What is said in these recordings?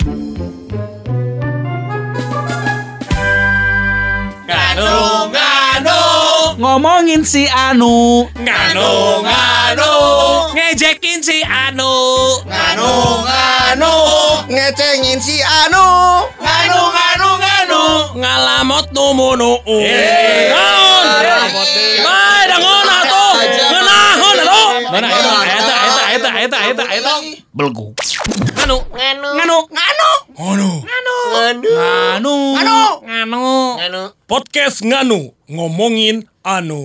Ngomongin si Anu, Nganu ngejekin si Anu, Nganu ngecengin si Anu, ngalamot numunu. Naon? Bae dangon atuh. Ngeunahon atuh. Mana eta belgu. Nganu. Podcast Nganu ngomongin Anu.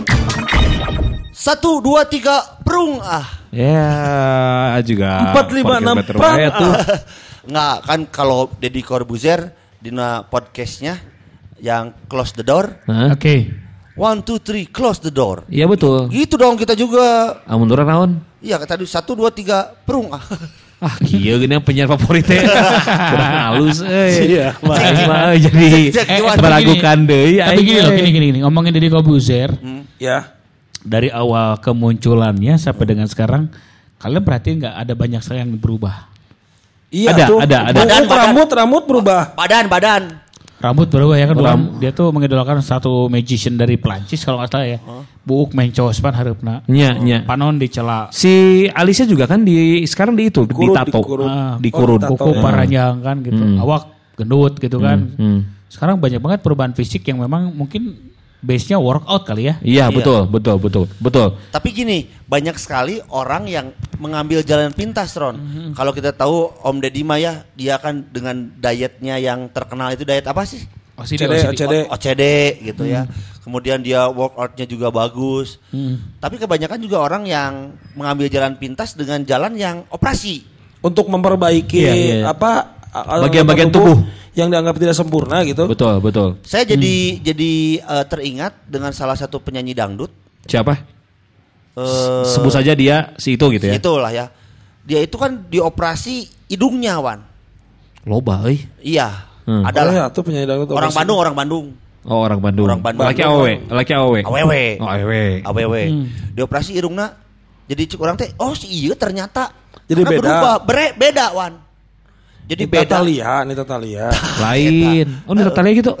1, 2, 3 prung ya juga 4, 5, 6 prang Nggak kan kalau Deddy Corbuzier dina podcastnya yang close the door. Oke. 1, 2, 3 close the door. Iya betul. Gitu dong kita juga. Amun turun naon? Iya kata 1, 2, 3 prung Kieu gini penyiar favorit teh. Kurang halus Iya, mah jadi meragukan deui. Tapi gini, ngomongin Deddy Corbuzier. Ya. Dari awal kemunculannya sampai dengan sekarang, kalian perhatiin nggak ada banyak sekali yang berubah? Iya Ada, tuh. ada. Rambut berubah. Badan. Rambut berubah ya kan. Dia tuh mengidolakan satu magician dari Perancis kalau nggak salah ya. Buuk mencos pan hareupna. Nya. Panon dicela. Si Alisa juga kan sekarang ditato. Dikurut. Kuku paranjang kan gitu. Awak gendut gitu kan. Sekarang banyak banget perubahan fisik yang memang mungkin base-nya workout kali ya. Iya, betul. Tapi gini, banyak sekali orang yang mengambil jalan pintas, Ron. Kalau kita tahu Om Deddy mah ya, dia kan dengan dietnya yang terkenal itu diet apa sih? OCD gitu ya. Kemudian dia workoutnya juga bagus. Tapi kebanyakan juga orang yang mengambil jalan pintas dengan jalan yang operasi. Untuk memperbaiki bagian-bagian tubuh yang dianggap tidak sempurna gitu. Betul. Saya jadi teringat dengan salah satu penyanyi dangdut. Siapa? Sebut saja dia si itu gitu ya. Itulah ya. Dia itu kan dioperasi hidungnya, Wan. Loba euy. Iya. Adalah ya, tuh penyanyi dangdut. Orang Bandung. Oh, orang Bandung. Laki awewe. Awewe. Dioperasi hidungnya. Jadi cik orang teh, oh si iya ternyata. Jadi beda. Beda, Wan. Jadi beda. Nita Lain. Oh, Nita gitu.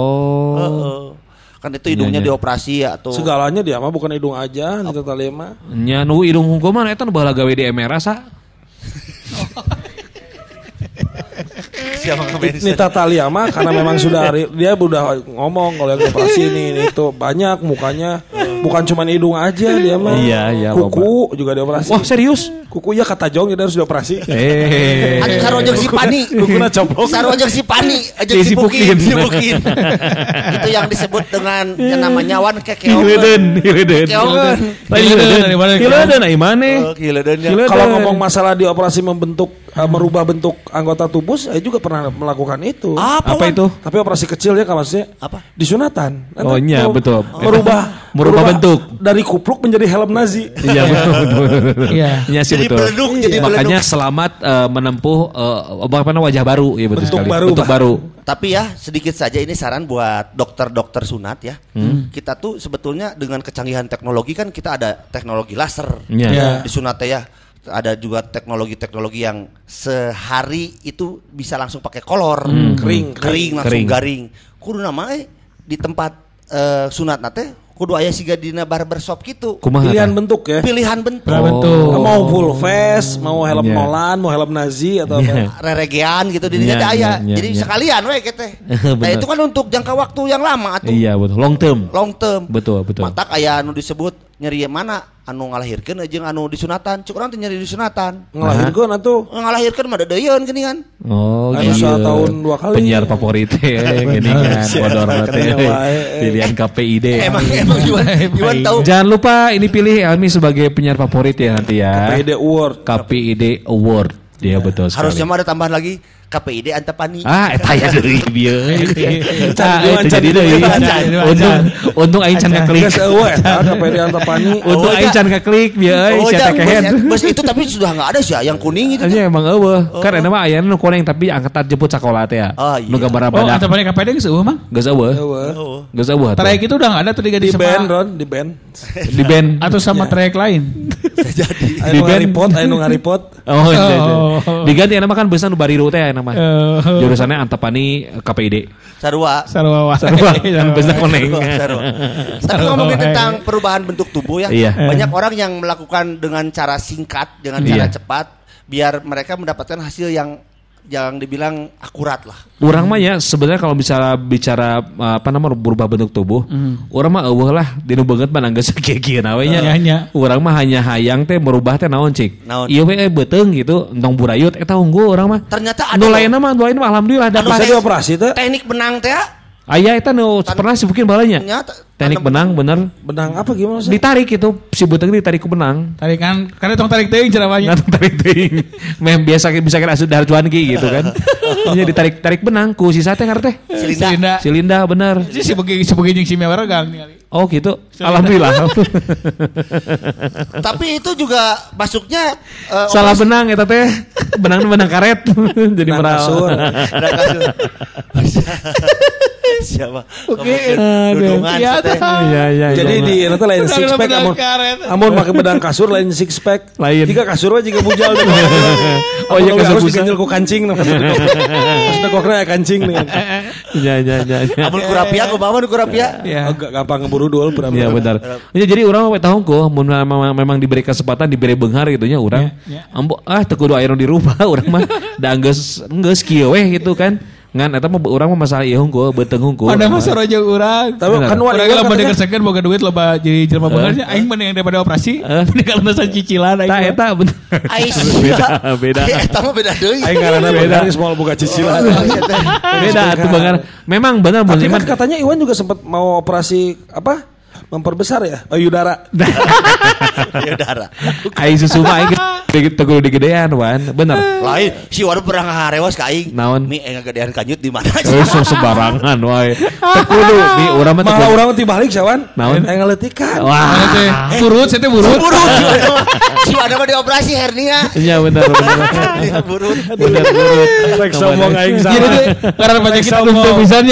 Kan itu hidungnya dioperasi ya tuh. Segalanya dia mah bukan hidung aja Nita Thalia mah. Nya nu hidung hukum mah eta nu baheula gawe di MRA sa. Nita Thalia mah karena memang dia udah ngomong kalau yang operasi ini itu banyak mukanya, bukan cuma hidung aja dia mah. Iya, kuku juga dioperasi. Wah, serius? Kuku ya kata Jong dia harus dioperasi. Anu sarojeng si Pani. Kukuna coplok. Sarojeng si Pani aja sipukin. Itu yang disebut dengan yang namanya wan kekeongan. Hileuden ai maneh. Kalau ngomong masalah dioperasi merubah bentuk anggota tubuh, saya juga pernah melakukan itu. Apa itu? Tapi operasi kecil ya maksudnya. Apa? Disunatan. Oh iya, betul. Merubah bentuk dari kupluk menjadi helm Nazi. Iya, betul. Iya sih betul. Makanya beleduk. Selamat menempuh wajah baru ya, betul sekali. Bentuk baru. Tapi ya sedikit saja ini saran buat dokter-dokter sunat ya. Kita tuh sebetulnya dengan kecanggihan teknologi kan kita ada teknologi laser di sunat ya. Ada juga teknologi-teknologi yang sehari itu bisa langsung pakai kolor, kering langsung garing. Kudu nama di tempat sunat nate kudu aya siga dina barbershop gitu. Pilihan bentuk ya. Pilihan bentuk. Mau full face, mau helm Nolan, mau helm Nazi atau apa. Reregean gitu di dinya aya. Jadi sekalian we teh. Nah itu kan untuk jangka waktu yang lama atuh. Iya betul. Long term. Betul. Matak aya anu disebut nyeri mana anu ngalahirkeun jeung anu disunatan. Cuk urang teh nyeri disunatan. Ngalahirkeun atuh. Ngalahirkeun mah deuyeuan geuningan. Oh, anu tahun 2 kali. Penyiar favorit geuningan bodor teh. Pilihan KPID. Emang Iwan tahu. Jangan lupa ini pilih Almi sebagai penyiar favorit ya nanti ya. KPID Award. Dia betul sekali. Harusnya mah ada tambahan lagi KPID Antapani. Eta ya deui bieu. Jadi deui. Untung aing can ngaklik. Geus eueuh eta KPID Antapani. Untung aing can ngaklik bieu euy sia kehen. Bos itu tapi sudah enggak ada sih yang kuning itu. Nya emang eueuh. Kan eta mah aya nu kuning tapi angkatan jemput sakola teh ya. Nu gambar badak. Antapani KPID geus eueuh mah? Geus eueuh. Trayek itu udah enggak ada tuh di band Ron, di band. Atau sama trayek lain. Jadi anu ngaripot. Oh, Diganti nama kan besan Bariru teh nama. Jurusannya Antapani KPID. Sarua. Besan koneng. Tapi ngomongin tentang perubahan bentuk tubuh ya. Banyak orang yang melakukan dengan cara singkat, dengan cara cepat biar mereka mendapatkan hasil yang dibilang akurat lah. Orang mah ya sebenarnya kalau bicara berubah bentuk tubuh, orang mah eueuh lah dinu beungeut mah anggeus kieu-kieu na we nya. Urang mah hanya hayang teh merubah teh naon cik. Ieu we beuteung gitu, entong burayut eta unggul urang mah. Ternyata ada nu lainna mah alhamdulillah dapat. Bisa dioperasi teh. Teknik benang teh. Aya eta nu pernah sibukin balanya. Teknik benang bener. Benang apa gimana sih? Ditarik itu si beuteung ditarik ku benang. Tarikan kan tong tarik teuing ceramanya. Tarik teuing. Mem biasa kira asup dahar cuan ki gitu kan. Nya ditarik benang ku sisa teh ngarteh. Silinda bener. Si beuki jeung si mewergang ningali. Oh gitu. Alhamdulillah. Tapi itu juga masuknya salah benang eta teh. Benang karet. Jadi meral. Siapa? Oke. Iya. Jadi di itu lain six pack amun make bedang kasur lain six pack. Lain. Jika kasur juga bujal. Oh iya kasur harus diganjel ku kancing. Maksudnya kokna kancing dengan. Iya. Amun kurapia ku bawa kurapia. Agak gampang ngeburu dul pura. Iya benar. Jadi urang we tahu ku mun memang diberi kesempatan diberi beunghar gitu nya urang. Ambo teu kudu aya nu dirubah urang mah da geus kieu we gitu kan. Ngan eta mah urang mah masalah ieu hungkul beuteung hungkul. Ada masalah jeung urang. Tapi kan urang lamun dikerjakeun boga duit loba jadi jelema beungarnya aing mending daripada operasi. Mending kaleusan cicilan aing. Tah eta bener. Beda. Eta mah beda deui. Aing ngaranna beda geus moal boga cicilan. Beda atuh beungar. Memang benar tapi kan katanya Iwan juga sempat mau operasi apa? Memperbesar ya payudara. Payudara. Aing susu mah aing teu digedean wan. Bener. Lain si Wan pernah ngarewas ka aing. Naon? Mi ngagedean kanyut di mana sih? Sembarangan wae. Teu kudu mi urang mah teu. Malah urang tibalik sawan. Naon? Aing ngaletikan. Wah. Burut saya teh burut. Si Wan mah dioperasi hernia. Iya bener. Burut. Rek sombong aing salah. Jadi karena banyak kita untuk pisannya.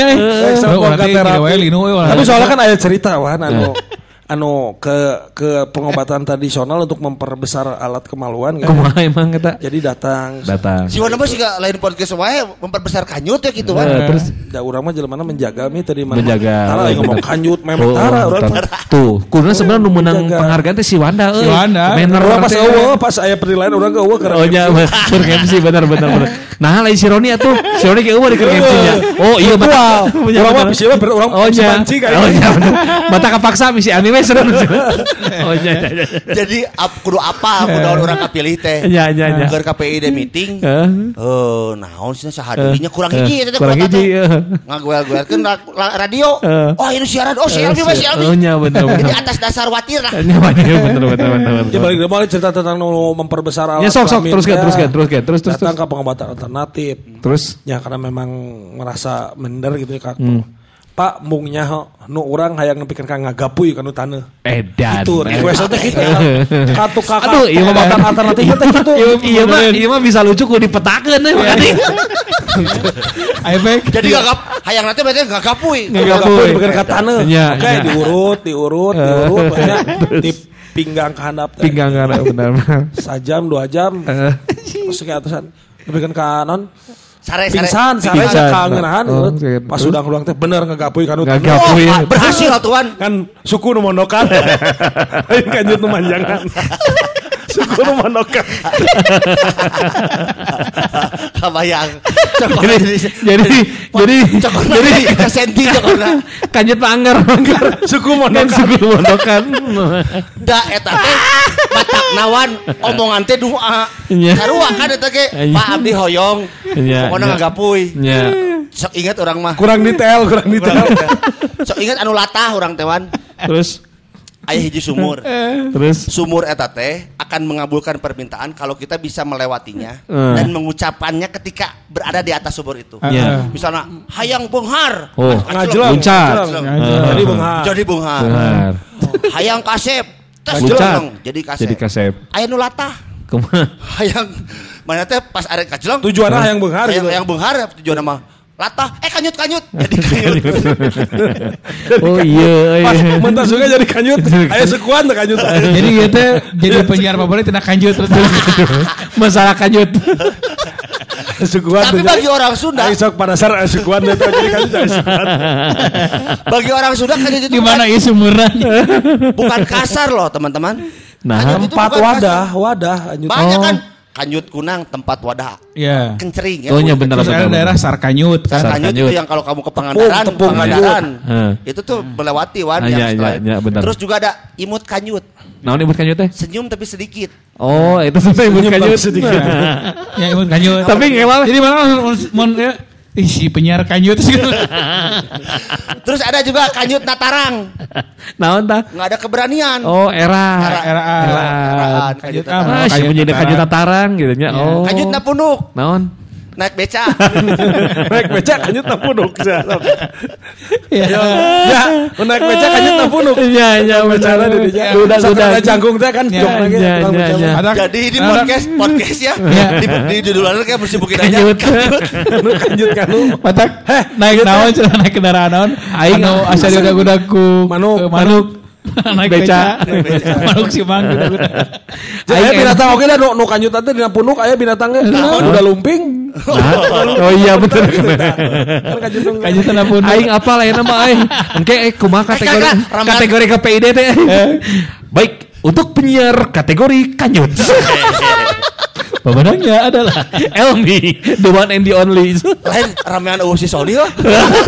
Tapi soalnya kan ada cerita wan anu ke pengobatan tradisional untuk memperbesar alat kemaluan kan. Kumaha emang eta? Jadi datang. Si Wana mah siga lain podcast wae memperbesar kanyut ya gitu kan. Terus da urang mah jelema menjaga mi tadi mana. Menjaga. Tara ngomong kanyut memang tara urang. Tuh, kuduna sebenarnya nu meunang penghargaan teh si Wanda euy. Manner pas eueuh pas aya penilaian urang ke eueuh keur. Oh nya keur MC bener. Nah lain si Roni atuh. Si Roni ke eueuh di keur MC-nya. Oh iya betul. Urang mah bisi mah urang mancing kayak. Oh iya. Mata kepaksa misi anime seru. Oh iya. Jadi kudu apa kudu orang kapilih teh. Iya. Keur KPID meeting. Naon sih sahadirinya kurang hiji eta teh. Kurang hiji. Ngagoel-goelkeun radio. Oh ini siaran. Oh siaran. Oh iya bener. Jadi atas dasar watir lah. Iya bener. Ya balik cerita tentang memperbesar alat. Ya sok teruskan. Terus datang ke pengobatan alternatif. Terus ya karena memang merasa minder gitu ya Kak. Pak mungnya nu urang hayang nepikeun ka ngagapuy ka nu taneuh. Edan. Itu request teh kitu. Katu kakak. Aduh, ieu mah alternatif teh kitu. Ieu mah bisa lucu ku dipetakeun we berarti. Efek. Jadi hayang nanti berarti ngagapuy. Ngagapuy nepikeun ka taneuh. Oke, diurut banyak di pinggang ka handap. Pinggang ka benar. Sajam 2 jam. Terus ke atasan. Nepikeun ka non Pingsan kangenahan pas udah ngulang teh bener ngagapuy kanu berhasil atuan kan suku nu mondokan kanjut nu manjangan suku nu mondokan kabayang jadi senti cokorna kanjut anggar suku mondokan da eta teh batak nawan omongan teh doa sarua kan eta ge Pak Abdi hoyong pokona ngagapuy sok ingat orang mah kurang detail sok ingat anu latah orang tewan terus aya hiji sumur terus sumur eta teh akan mengabulkan permintaan kalau kita bisa melewatinya dan mengucapkannya ketika berada di atas sumur itu misalnya hayang beunghar jadi beunghar hayang kasep jadi kasep aya nu latah hayang mana teh pas arek kajlong tujuanna hayang beunghar hayang beunghar tujuanna mah latah kanyut jadi kanyut. Oh iya. Pas mentas juga jadi kanyut. Aya sekuan teh kanyut. Jadi gitu jadi penyiar favorit tina kanjut terus. Masalah kanyut. Sekuan. Tapi bagi orang Sunda sok pada dasar sekuan itu jadi kanyut sekuan. Bagi orang Sunda kanyut itu gimana isu murah? Bukan kasar loh teman-teman. Nah, tempat wadah kanyut. Banyak kan kanyut kunang tempat wadah. Iya. Kencering ya. Oh iya benar. Terus ada daerah Sarkanyut. Sarkanyut itu yang kalau kamu ke Pangandaran, itu tuh melewati benar. Terus juga ada imut kanyut. Naon imut kanyut teh? Senyum tapi sedikit. Oh, itu sampai imut kanyut sedikit. Ya imut kanyut. Tapi gimana? Jadi mana si penyiar kanyut. Terus ada juga kanyut Natarang. Naon tah? Nggak ada keberanian. Oh, eraan. Kanyut menjadi kanyut Natarang gitu nya. Oh. Kanyut Napunuk. Naon? Naik beca. Naik beca kanyut Napunuk. Ya, naik beca kanyut Napunuk. Iya, becara di dia. Sudah jangkung teh kan jok lagi. Jadi ini podcast ya. Di judulannya kayak bersibukin aja. Kanjut kanu. Matak naik naon cenah naik kendaraan naon? Aing asa udah ku manuk. Naik beca. Manuk si mang udah. Aya binatang oge da nu kanjut teh dina punuk aya binatangnya udah lumping. Oh iya betul. Kanjut na punuk. Aing apa lain nama aing? Engke kumaha kategori KPID teh. Baik, untuk penyiar kategori kanyut. Pemenangnya adalah Elmi, the one and the only. Lain ramean si Sony lah.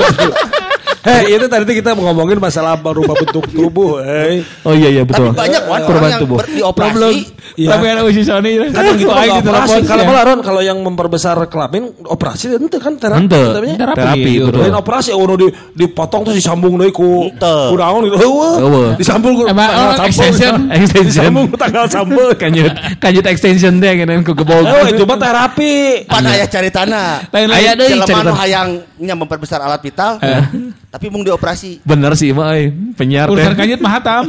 Itu tadi kita ngomongin masalah berubah bentuk tubuh. Oh iya betul. Tapi banyak perubahan yang tubuh. Dioperasi. Tapi ada uji Sony. Kan gitu operasi. Kalau yang memperbesar kelamin operasi itu kan terapi. Betul. Lain operasi dipotong terus disambung deui ku daun gitu. Disambung ku extension. Disambung ku tanggal sambung. Kanjut extension teh ngeunaheun ku gebog. Itu mah terapi. Pan aya caritana. Aya deui carita hayangnya memperbesar alat vital. Tapi mung dioperasi. Bener sih mah penyiar teh. Urusan kanyut mah hatam.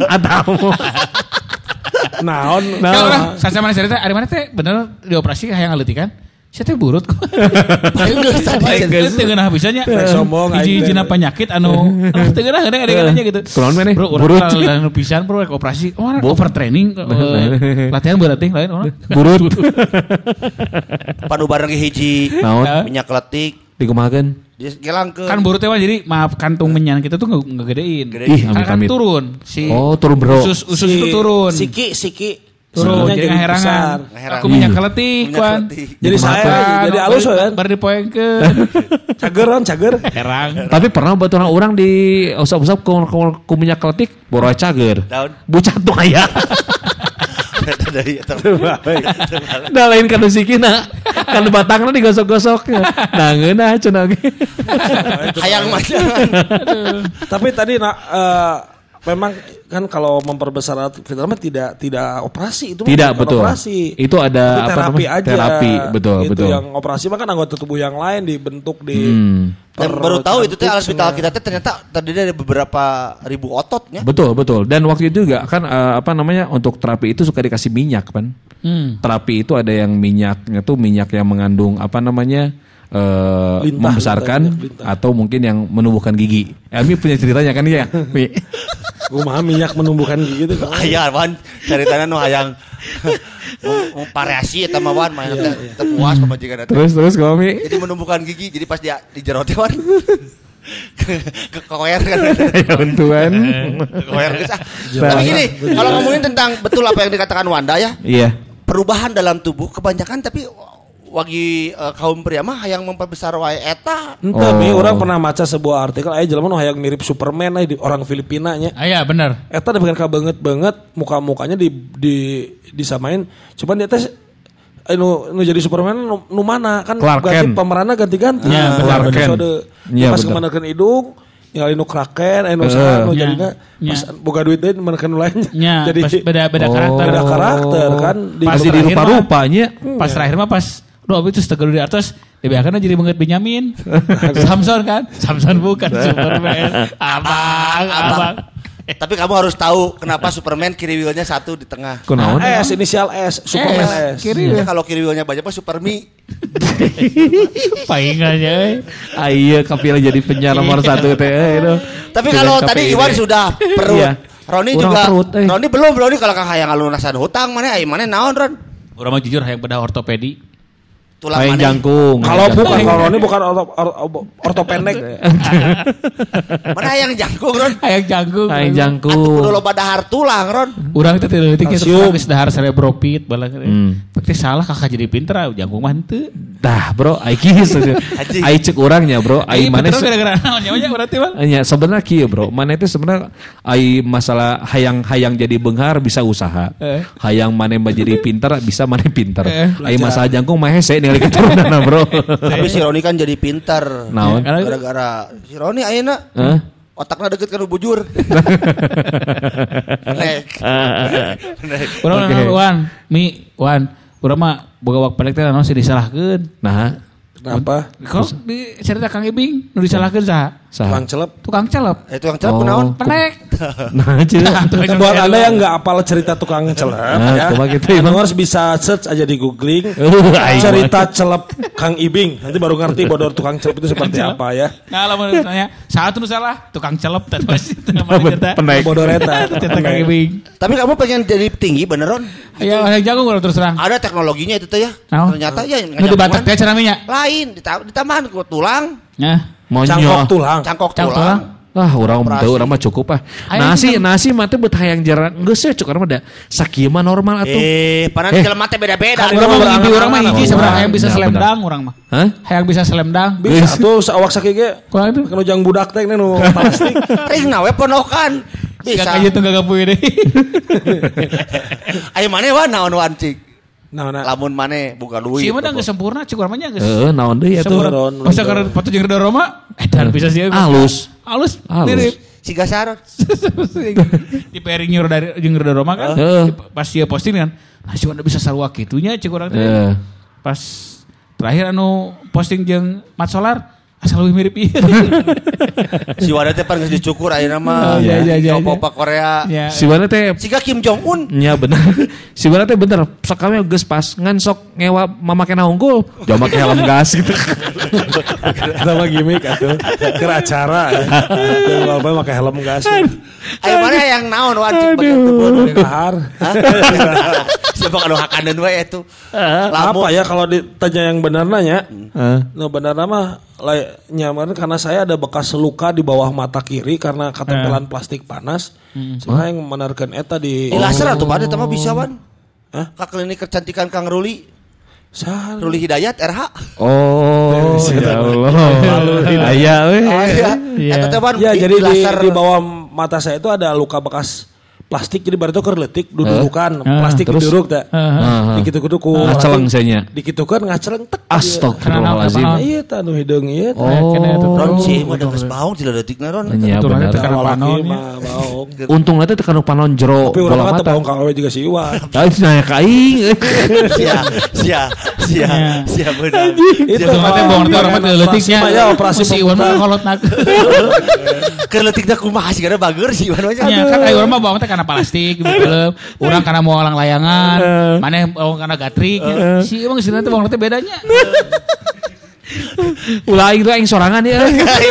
Naon. Kalau orang sama cerita ari mana teh bener dioperasi hayang ngaleutik kan? Saya teh burut kok. Geus teu geunah bisanya. Sombong hiji-hijina penyakit anu teu geunah gede-gedenya gitu. Kunaon maneh? Burut anu pisan bro operasi. Oh overtraining. Latihan berat teh lain orang. Burut. Panu bareng hiji minyak letik dikumahakeun. Gelangkeun. Kan burut teh jadi maaf kantung menyan kita tuh ngegedein. Kan turun. Turun bro. Usus itu turun. Siki. Turun jadi ngaherangan. Aku minyak keletik kan. Jadi saya jadi alus kan. Bar dipoengkeun. Cager. Herang. Tapi pernah baturan orang di usap-usap ku minyak keletik boro cager. Bucat tuh aya. Dah lain kan sikina. Kan batangna digosok-gosok. Nah ngeunah cenah ge. Hayang mah. Tapi tadi memang kan kalau memperbesar alat vital tidak operasi itu tidak betul operasi. Itu ada terapi aja terapi betul itu yang operasi mah kan anggota tubuh yang lain dibentuk baru tahu itu teh alat vital kita teh ternyata terdiri dari beberapa ribu ototnya. Betul dan waktu itu juga kan untuk terapi itu suka dikasih minyak kan. Terapi itu ada yang minyaknya tuh minyak yang mengandung membesarkan atau mungkin yang menumbuhkan gigi. Elmi punya ceritanya kan ya? Kumaha minyak menumbuhkan gigi itu. Aya wan ceritanya nu hayang variasi eta mah wan main teh puas pamajikan eta. Terus kami. Jadi menumbuhkan gigi jadi pas dia dijerot teh wan. Kekoer kan. Ya untuan. Kekoer geus ah. Tapi gini, kalau ngomongin tentang betul apa yang dikatakan Wanda ya. Iya. Perubahan dalam tubuh kebanyakan tapi wagi kaum pria mah hayang memperbesar wae eta. Tapi orang pernah baca sebuah artikel jelema nu hayang mirip Superman di orang Filipina nya. Iya benar. Eta da bukan banget muka-mukanya disamain. Cuman dia teh nu jadi Superman nu mana kan ganti pemeranna ganti-ganti. Iya, pas kemanakeun hidung ningali nu Kraken nu jadina pas boga duit deui menekan lain. Jadi beda karakter. Beda karakter kan pas di rupa-rupanya. Pas terakhir mah pas itu setegal di atas dibiarkan jadi banget Benyamin. Samson kan? Samson bukan Superman. Abang. Tapi kamu harus tahu kenapa Superman kiri wheelnya 1 di tengah. Kunaon? S, inisial S, Superman S. Kiri ya, kalau kiri wheelnya banyak mah Supermi. Paingannya. Iya, kapil jadi penyiar nomor 1 teh itu. Tapi kalau tadi Iwan sudah perut. Roni juga. Roni belum kalau Kang hayang lunasan hutang mana naon Ron? Urang mah jujur hayang bedah ortopedi. Tulang hayang jangkung. Kalau Roni bukan ortopendek. Mana hayang jangkung Ron? Hayang jangkung. Atuh kudu loba dahar tulang Ron. Urang teh teu leutik geus dahar cerebropit balang. Pasti salah kakak jadi pinter jangkung mah henteu. Tah bro, ai kieu ai cek urangnya bro, ai mana gara-gara naonnya nya berarti Bang. Nya sebenarnya kieu bro, mana itu sebenarnya ai masalah hayang jadi beunghar bisa usaha. Hayang mana jadi pinter bisa mana pinter. Ai masalah jangkung mah hese ningali keturunanna bro. Tapi si Roni kan jadi pinter. Naon? Gara-gara si Roni ayeuna otaknya deket kan bujur. Wan, urang mah boga wak pelek teh naon sih disalahkeun. Nah, kenapa? Kok di cerita Kang Ibing nu disalahkeun saha? Tukang celep. Tukang celep kunaon? Penek. Nah, buat Anda yang enggak apal cerita tukang celep ya. Anda harus bisa search aja di googling cerita celep Kang Ibing. Nanti baru ngerti bodor tukang celep itu seperti apa ya. Nah, lamun ditanya, saha nu salah? Tukang celep teh pasti cerita. Penek. Bodor eta. Cerita Kang Ibing. Tapi kamu pengen jadi tinggi beneran? Ya, hayang jago kalau terus terang. Ada teknologinya itu teh ya. Ternyata ya nu dibatek teh caranya. Lain ditambahan ku tulang. Nah. Cangkok tulang. Ah, urang mah cukup ah. Nasi mah teh beut hayang jaran geus ya cukup mah da sakieu mah normal atuh. Panan jelema teh beda-beda. Urang mah hiji sabarang hayang bisa slamdang urang mah. Hah? Hayang bisa slamdang. Bisa atuh awak sakieu ge. Kanu jang budak teh nu plastik. Ring we ponokan. Bisa. Kayak gitu gagapuy deui. Aya maneh wa naon wancik. Lamun maneh buka duit. Sieu mah geus sempurna cik urang mah nya geus. Naon deui atuh. Masa karena foto jeung Ridho Roma edan bisa sieun. Halus mirip Siga Sarot. Di pairing jeung Ridho Roma kan. Pas dia posting kan. Nah, si Wanda bisa sarua kitunya cik urang teh. Pas terakhir anu posting jeung Mat Solar asal lebih mirip ieu. Si Wanda teh pan geus dicukur ayeuna mah. Opa Korea. Si Wanda teh siga Kim Jong Un. Nya bener. Si Wanda teh bener sakame geus pas ngan sok ngewa mamake unggul. Jam make helm gas gitu. Sama gimmick atuh. Keur acara. Bapak make helm gas. Ayo mana yang naon wajib bagian tubuh kahar. Siapa kalau hakanan we itu. Apa ya kalau ditanya yang benar nanya? No benar mah nyaman karena saya ada bekas luka di bawah mata kiri karena ketempelan plastik panas. Saya yang menarkan eta di laser atau pada tema bisa wan? Ka klinik kecantikan Kang Ruli. Ruli Hidayat RH. Oh, ya Allah. Aya we. Eta teh wan. Ya jadi di bawah mata saya itu ada luka bekas plastik jadi baru itu kerletik dudukan plastik duduk tak dikitu-kitu ku ngaceleng nya dikitukeun ngaceleng tek astagfirullahalazim ieu tah nu hideung ieu Ron sih mah geus baung ti leutikna Ron bener baung untungna teh teh kana panon jero tapi urang mah teu baung ka awewe juga si Iwan nanya ka aing sia bener itu mah baung teh urang mah teu leutiknya operasi si Iwan mah kolotna keur leutikna kumaha sigana bager si Iwan mah nya kan urang mah baung teh karena plastik gitu orang karena mau orang layangan mana karena gatrik si emang sih nanti bang nanti bedanya ulah itu aing sorangan ya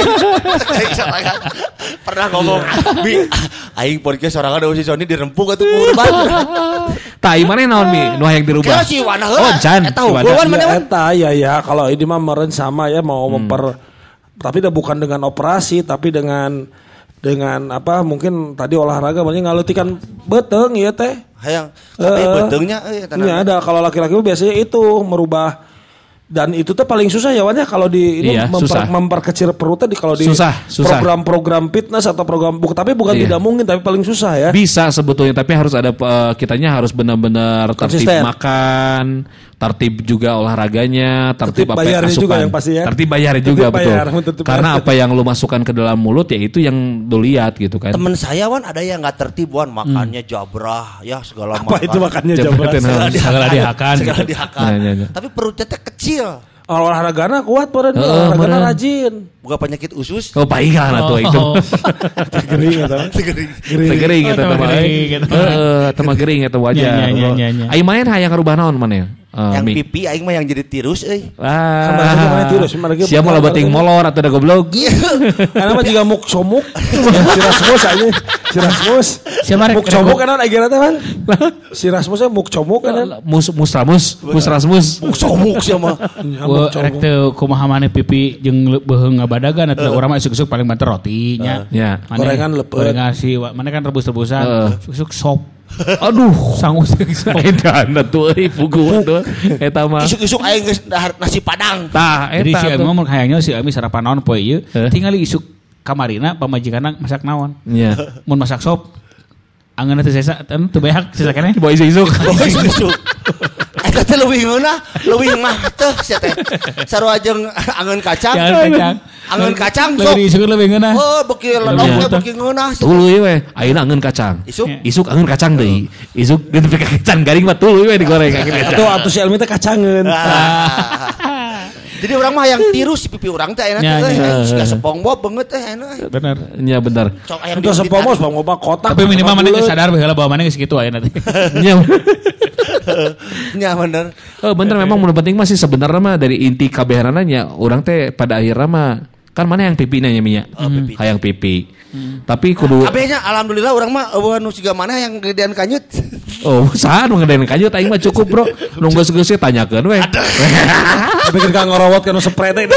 pernah ngomong aing podcast sorangan si Sony dirempuk atuh kurban tai mana naon mi nu hayang dirubah si Wana heula oh can eta hukuman mana eta ya kalau ini mah meureun sama ya mau tapi bukan dengan operasi tapi dengan apa mungkin tadi olahraga banyak ngalutikan beteng ya teh hayang tapi betengnya ya ada kalau laki-laki biasanya itu merubah dan itu tuh paling susah ya Wan ya kalau di ini memperkecil perutnya kalau di program-program fitness atau program tapi bukan tidak mungkin tapi paling susah ya bisa sebetulnya tapi harus ada kitanya harus benar-benar tertib makan tertib juga olahraganya, tertib apa yang asupan. Juga yang pasti ya. Tertib bayar juga betul. Karena apa yang lu masukkan ke dalam mulut ya itu yang lu lihat gitu kan. Temen saya Wan ada yang enggak tertib Wan, makannya jabrah ya segala macam. Apa itu makannya jabrah? Segala dihakan. Tapi perutnya teh kecil. Olahragana kuat badan olahragana rajin. bukan penyakit usus. Oh paikan atau itu. Gering atau? Gering itu teman gering itu wajar. Aing main hayang ngarubah naon mana ya? Yang pipi aing mah yang jadi tirus euy. Mana tirus? Siapa mau lebeting molor atau ada goblok? Karena mah juga muk somuk. Si Rasmus aja. Si Rasmus. Siapa muk comuk kan akhirnya teh kan? Si Rasmusnya muk comuk kan? Mus Rasmus. Muk somuk siapa? Rek teu kumaha maneh pipi jeung beheung ngabadagan atuh urang mah isuk-isuk paling banter rotinya. Ya. Gorengan lepet. Gorengan si mana kan rebus-rebusan. Isuk sop. Aduh, sangus edan atuh euy pugu atuh eta mah. Isuk-isuk aing geus nasi padang. Tah eta. Jadi si Ami mah hayangnya si Ami sarapan naon poe ieu, tingali isuk kamarina pamajikanna masak naon. Iya. Mun masak sop angeunna teu sesa teu beak sesa keneh. Boy isuk. Eta teh leuwih mah teh sia teh. Sarua jeung angeun kacang. Angeun kacang sok. Leuwih isuk leuwih ngeunah. Oh, beuki lodok beuki ngeunah. Tuluy we, ayeuna angeun kacang. Isuk angeun kacang deui. Isuk geus kacang garing mah tuluy we digoreng kaki. Atuh si Elmi teh kacangeun. Jadi orang mah yang tirus si pipi orang teh enak teh. Siga SpongeBob beungeut teh enak. Bener. Nya bener. Itu SpongeBob kotak. Tapi minimal mana geus sadar baheula bahwa mana geus kitu ayeuna teh. Nya bener. Bener memang mun penting mah sih sebenarnya mah dari inti kabehanana nya urang teh pada akhirnya mah kan mana yang pipi nya nya. Hayang pipi. Tapi kudu abenya alhamdulillah urang mah nu siga mana yang gedean kanyut. Oh, saha nu gedean kanyut aing mah cukup, Bro. Nu geus-geus tanyakeun we. Bikin ka ngorowot kana spray teh.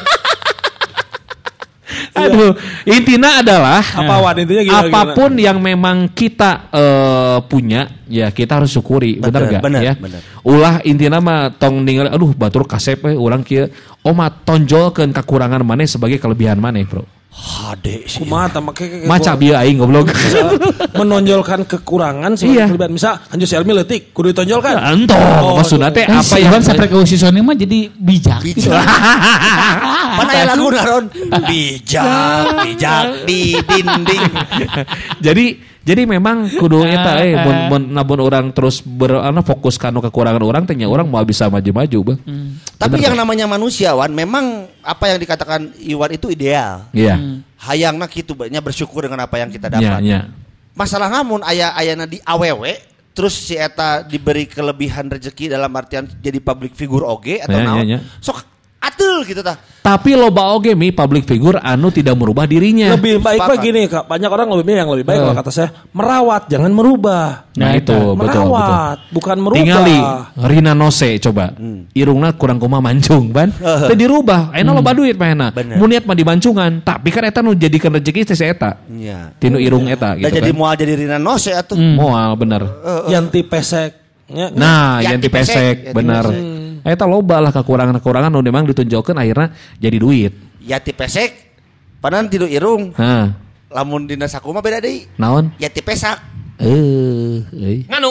Aduh, intinya adalah apapun yang memang kita punya, ya kita harus syukuri, benar gak? Ya? Bener. Ulah intinya mah tong ningali, aduh batur kasep urang kieu, mah tonjolkeun kekurangan maneh sebagai kelebihan maneh, Bro. Hade sih. Kumaha tah make maca bieu aing goblok. Menonjolkan kekurangan sebagai kelebihan. Misal anjir si Elmi leutik kudu ditonjolkan. Entong, maksudna teh apa yang sampai ke usisone mah jadi bijak. Mana aya lagu naron? Bijak di dinding. Jadi memang kudu eta mun orang terus fokus kana kekurangan orang teh nya urang mau bisa maju-maju, Bang. Tapi yang namanya manusiawan memang apa yang dikatakan Iwan itu ideal. Iya. Hayangna kitu nya bersyukur dengan apa yang kita dapat. Iya. Masalah namun ayana di awewe terus si eta diberi kelebihan rezeki dalam artian jadi public figure oge atau naon. Sok atul gitu tah. Tapi loba oge mi public figure anu tidak merubah dirinya. Lebih baik mah gini, Kak. Banyak orang yang lebih baik kalau kata saya merawat, jangan merubah. Nah itu merawat, betul. Bukan merubah. Tingali Rina Nose coba. Irungna kurang kumaha mancung ban. Teu dirubah, ayeuna loba duit mah enak. Mun niat mah dibancungan, tapi kan eta nu jadikeun rezeki teh si eta. Iya. Tinu irung eta gitu kan. Jadi moal jadi Rina Nose atuh. Moal bener. Yanti pesek. Nah, yanti pesek bener. Eta loba lah kekurangan-kekurangan nu memang ditunjukkeun akhirnya jadi duit. Yati pesek padahal tidur irung. Lamun dina saku mah beda deui. Naon? Yati pesak. Nganu.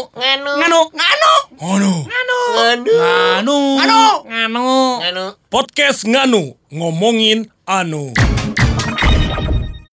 Podcast Nganu ngomongin anu.